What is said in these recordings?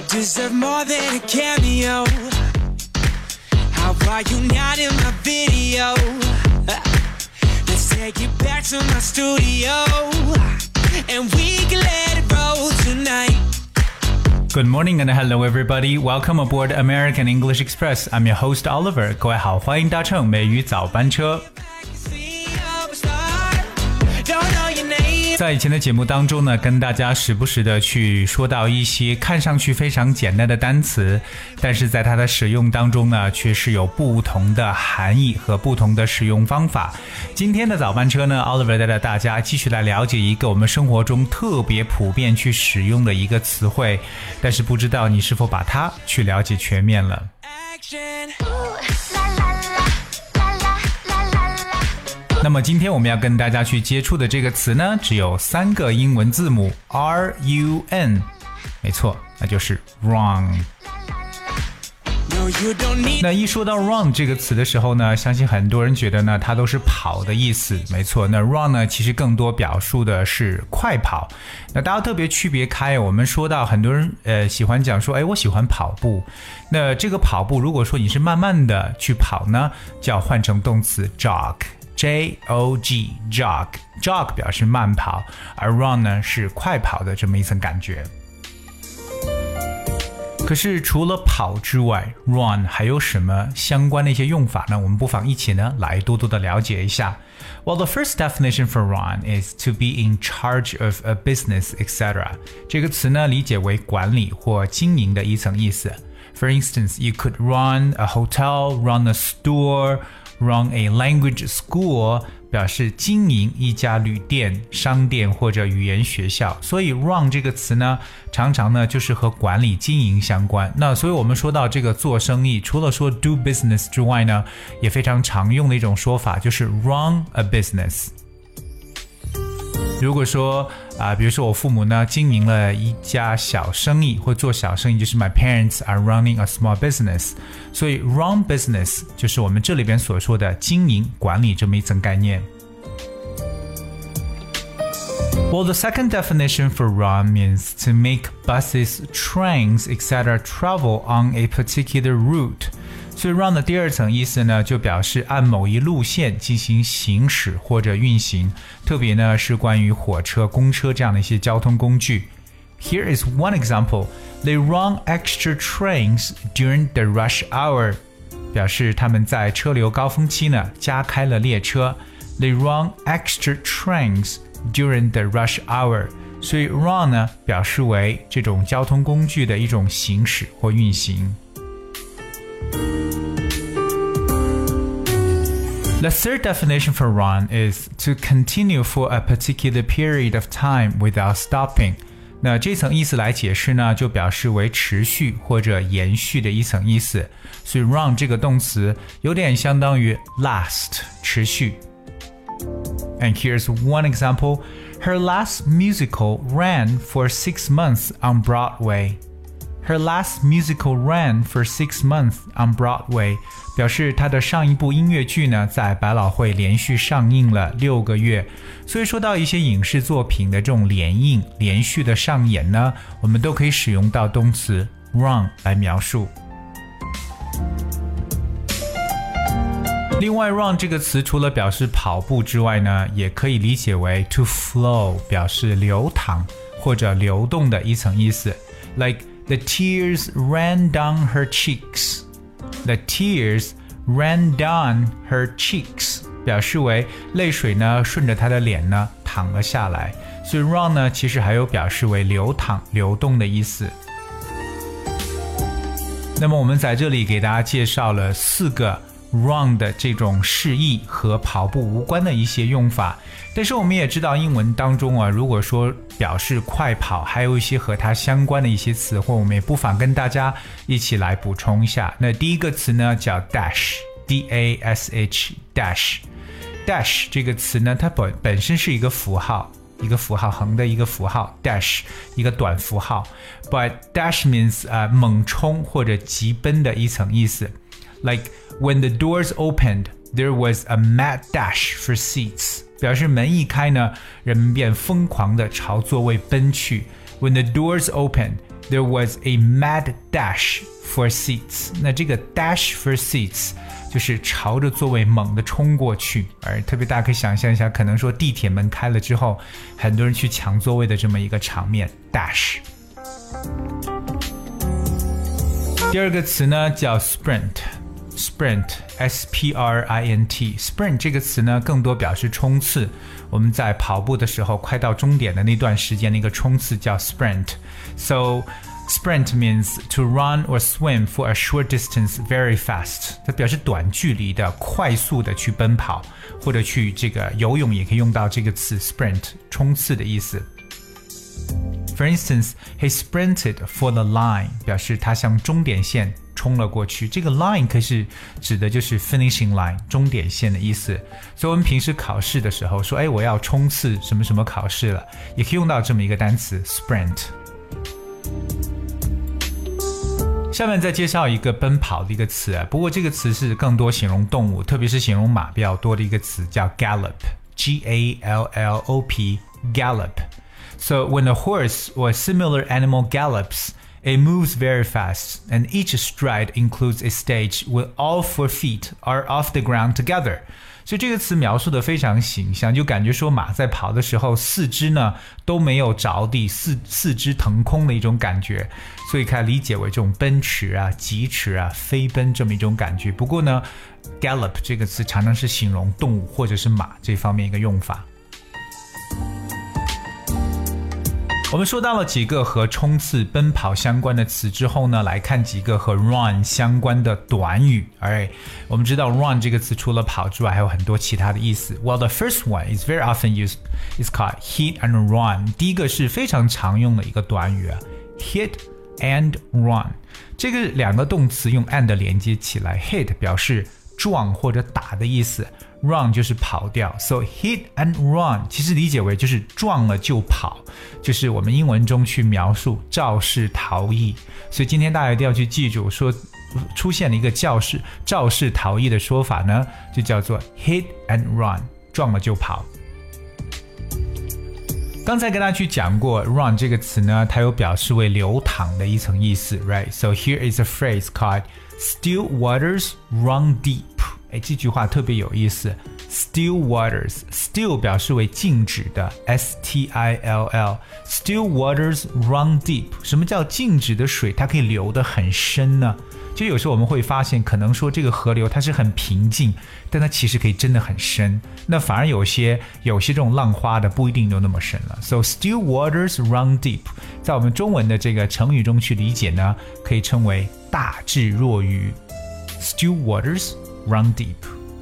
deserve more than a cameo. How are you not in my video? Let's take it back to my studio, and we can let it roll tonight.Good morning and hello everybody. Welcome aboard American English Express. I'm your host Oliver. 各位好，欢迎搭乘美语早班车。在以前的节目当中呢，跟大家时不时的去说到一些看上去非常简单的单词，但是在它的使用当中呢，却是有不同的含义和不同的使用方法。今天的早班车呢 Oliver 带着大家继续来了解一个我们生活中特别普遍去使用的一个词汇，但是不知道你是否把它去了解全面了。那么今天我们要跟大家去接触的这个词呢，只有3个英文字母 R-U-N， 没错，那就是 run。那一说到 run 这个词的时候呢，相信很多人觉得呢，它都是跑的意思，没错。那 run 呢，其实更多表述的是快跑。那大家特别区别开，我们说到很多人喜欢讲说，我喜欢跑步。那这个跑步，如果说你是慢慢的去跑呢，就要换成动词 jog。J-O-G jog 表示慢跑，而 run 呢是快跑的这么一层感觉。可是除了跑之外 run 还有什么相关的一些用法呢？我们不妨一起呢来多多的了解一下。Well, the first definition for run is to be in charge of a business, etc. 这个词呢理解为管理或经营的一层意思。For instance, you could run a hotel, run a store,Run a language school 表示经营一家旅店、商店或者语言学校，所以 run 这个词呢，常常呢就是和管理经营相关。那所以我们说到这个做生意，除了说 do business 之外呢，也非常常用的一种说法就是 run a business。如果说比如说我父母呢经营了一家小生意或做小生意，就是 My parents are running a small business， 所以 run business 就是我们这里边所说的经营管理这么一层概念。Well, the second definition for run means to make buses, trains, etc. travel on a particular route.所以 run 的第二层意思呢，就表示按某一路线进行行驶或者运行，特别呢是关于火车、公车这样的一些交通工具。Here is one example. They run extra trains during the rush hour. 表示他们在车流高峰期呢加开了列车。They run extra trains during the rush hour. 所以 run 呢表示为这种交通工具的一种行驶或运行。The third definition for run is to continue for a particular period of time without stopping. 那这层意思来解释呢，就表示为持续或者延续的一层意思。所以 run 这个动词有点相当于 last 持续。And here's one example. Her last musical ran for 6 months on Broadway.Her last musical ran for 6 months on Broadway. 表示她的上一部音乐剧呢，在百老汇连续上映了6个月。所以说到一些影视作品的这种连映、连续的上演呢，我们都可以使用到动词 run 来描述。另外 run 这个词除了表示跑步之外呢，也可以理解为 to flow， 表示流淌或者流动的一层意思。Like The tears ran down her cheeks. The tears ran down her cheeks. 表示为泪水呢顺着她的脸呢淌了下来。所以 run 呢其实还有表示为流淌、流动的意思。那么我们在这里给大家介绍了4个run 的这种释义和跑步无关的一些用法，但是我们也知道英文当中啊，如果说表示快跑，还有一些和它相关的一些词汇，我们也不妨跟大家一起来补充一下。那第一个词呢叫 dash， D-A-S-H dash。 dash 这个词呢，它本身是一个符号，横的一个符号 dash 一个短符号 but dash means 猛冲或者急奔的一层意思。Like when the doors opened, there was a mad dash for seats. 表示门一开呢，人们便疯狂地朝座位奔去。When the doors opened, There was a mad dash for seats. 那这个 dash for seats 就是朝着座位猛地冲过去，而特别大家可以想象一下，可能说地铁门开了之后，很多人去抢座位的这么一个场面 dash。第二个词呢叫 sprint，sprint S-P-R-I-N-T sprint 这个词呢更多表示冲刺，我们在跑步的时候快到终点的那段时间的一个冲刺叫 sprint。 So sprint means to run or swim for a short distance very fast， 它表示短距离的快速的去奔跑，或者去这个游泳也可以用到这个词 sprint 冲刺的意思。For instance, he sprinted for the line 表示他向终点线冲了过去，这个 line 可是指的就是 finishing line 终点线的意思。所以我们平时考试的时候说我要冲刺什么什么考试了，也可以用到这么一个单词 sprint。下面再介绍一个奔跑的一个词，不过这个词是更多形容动物，特别是形容马比较多的一个词叫 gallop G-A-L-L-O-P gallop。So when a horse or a similar animal gallops, it moves very fast, and each stride includes a stage where all 4 feet are off the ground together. 所以这个词描述的非常形象，就感觉说马在跑的时候四肢呢都没有着地，四肢腾空的一种感觉，所以可以理解为这种奔驰啊、疾驰啊、飞奔这么一种感觉。不过呢 gallop 这个词常常是形容动物或者是马这方面一个用法。我们说到了几个和冲刺奔跑相关的词之后呢，来看几个和 run 相关的短语。Alright, 我们知道 run 这个词除了跑之外还有很多其他的意思。Well, the first one is very often used, is called hit and run. 第一个是非常常用的一个短语hit and run. 这个两个动词用 and 连接起来， hit 表示撞或者打的意思， run 就是跑掉， so hit and run 其实理解为就是撞了就跑，就是我们英文中去描述肇事逃逸。所以今天大家一定要去记住，说出现了一个肇事逃逸的说法呢，就叫做 hit and run， 撞了就跑。刚才跟大家去讲过 run 这个词呢，它有表示为流淌的一层意思 right? So here is a phrase called Still waters run deep. 这句话特别有意思 Still waters, still 表示为静止的 S-T-I-L-L Still waters run deep. 什么叫静止的水它可以流得很深呢？就有时候我们会发现，可能说这个河流它是很平静，但它其实可以真的很深，那反而有些这种浪花的不一定有那么深了。 So still waters run deep 在我们中文的这个成语中去理解呢，可以称为大智若愚 Still waters run deep。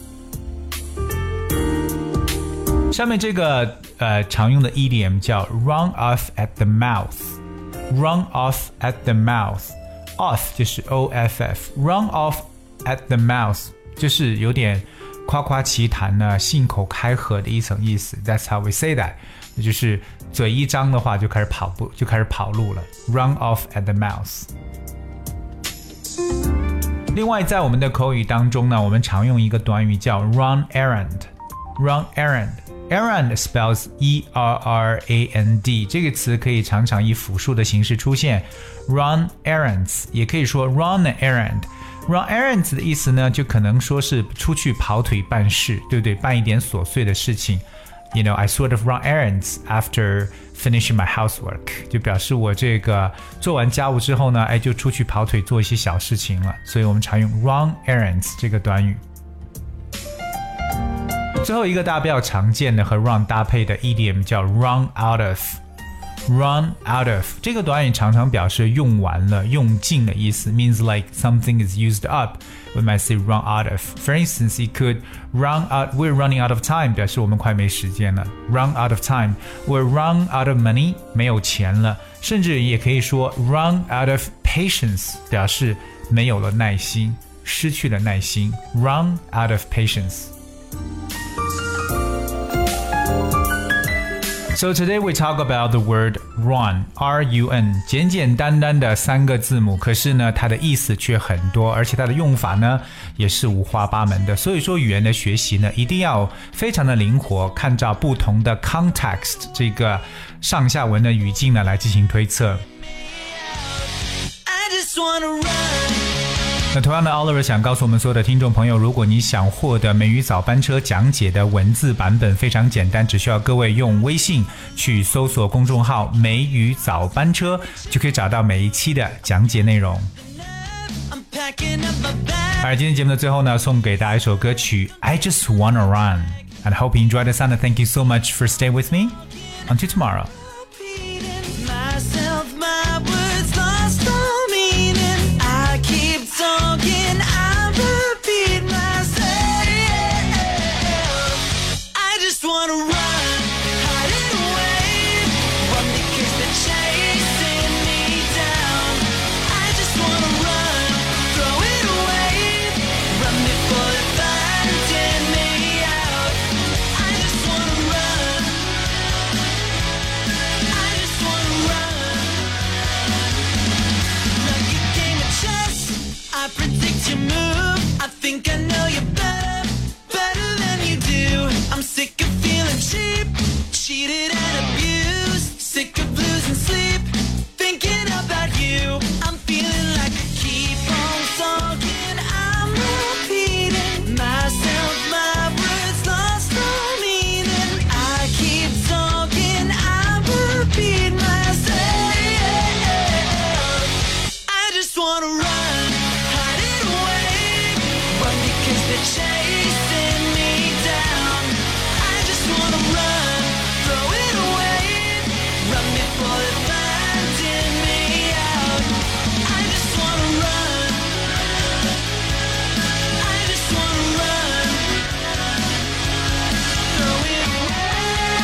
下面这个常用的 idiom 叫 run off at the mouth Run off at the mouth Off 就是 O-F-F Run off at the mouth 就是有点夸夸其谈呢，信口开河的一层意思。 That's how we say that 就是嘴一张的话就开始跑步，就开始跑路了。 Run off at the mouth。 另外在我们的口语当中呢，我们常用一个短语叫 run errand Run errand Errand spells E-R-R-A-N-D 这个词可以常常以复数的形式出现 Run errands 也可以说 run an errand Run errands 的意思呢，就可能说是出去跑腿办事，对不对？办一点琐碎的事情。 You know, I sort of run errands after finishing my housework 就表示我这个做完家务之后呢，就出去跑腿做一些小事情了。所以我们常用 run errands 这个短语。最后一个大家比较常见的和 run 搭配的 idiom 叫 run out of Run out of 这个短语常常表示用完了、用尽的意思 means like something is used up. We might say run out of. For instance, it could run out, we're running out of time 表示我们快没时间了 Run out of time. We're run out of money 没有钱了，甚至也可以说 run out of patience 表示没有了耐心，失去了耐心 Run out of patience.So today we talk about the word run, R-U-N 简简单单的3个字母，可是呢它的意思却很多，而且它的用法呢也是五花八门的。所以说语言的学习呢一定要非常的灵活，看照不同的 context 这个上下文的语境呢来进行推测。 just wanna run。 那同样的 Oliver 想告诉我们所有的听众朋友，如果你想获得美语早班车讲解的文字版本，非常简单，只需要各位用微信去搜索公众号美语早班车，就可以找到每一期的讲解内容。而今天节目的最后呢，送给大家一首歌曲 I Just Wanna Run and I hope you enjoyed the sound and thank you so much for staying with me. Until tomorrow. Talking, I repeat myself. I just wanna run, hide it away, run because they're chasing me down. I just wanna run, throw it away, run before they find me out. I just wanna run, I just wanna run. Like a game of chess, I predict your move. I think I know you better, better than you do. I'm sick of feeling cheap, cheated and abused. Sick of losing sleep, thinking about you. I'm feeling like I keep on talking. I'm repeating myself, my words lost all meaning. I keep talking, I repeat myself. I just wanna run, hide it away, run because they're chasing me down. I just wanna run, throw it away, run before they're finding me out. I just wanna run, I just wanna run, throw it away.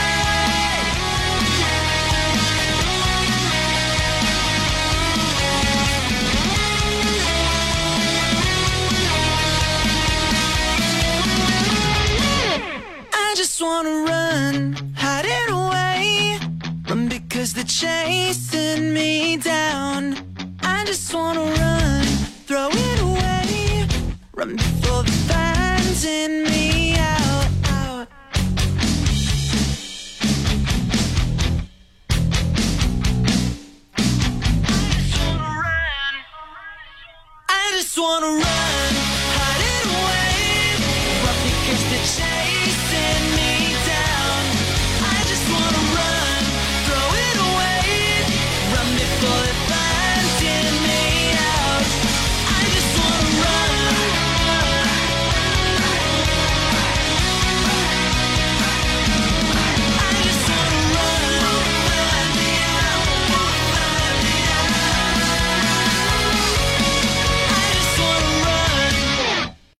I just wanna run, hide it away, run because they're chasing me down. I just wanna run, throw it away, run before they're finding me out. I just wanna run.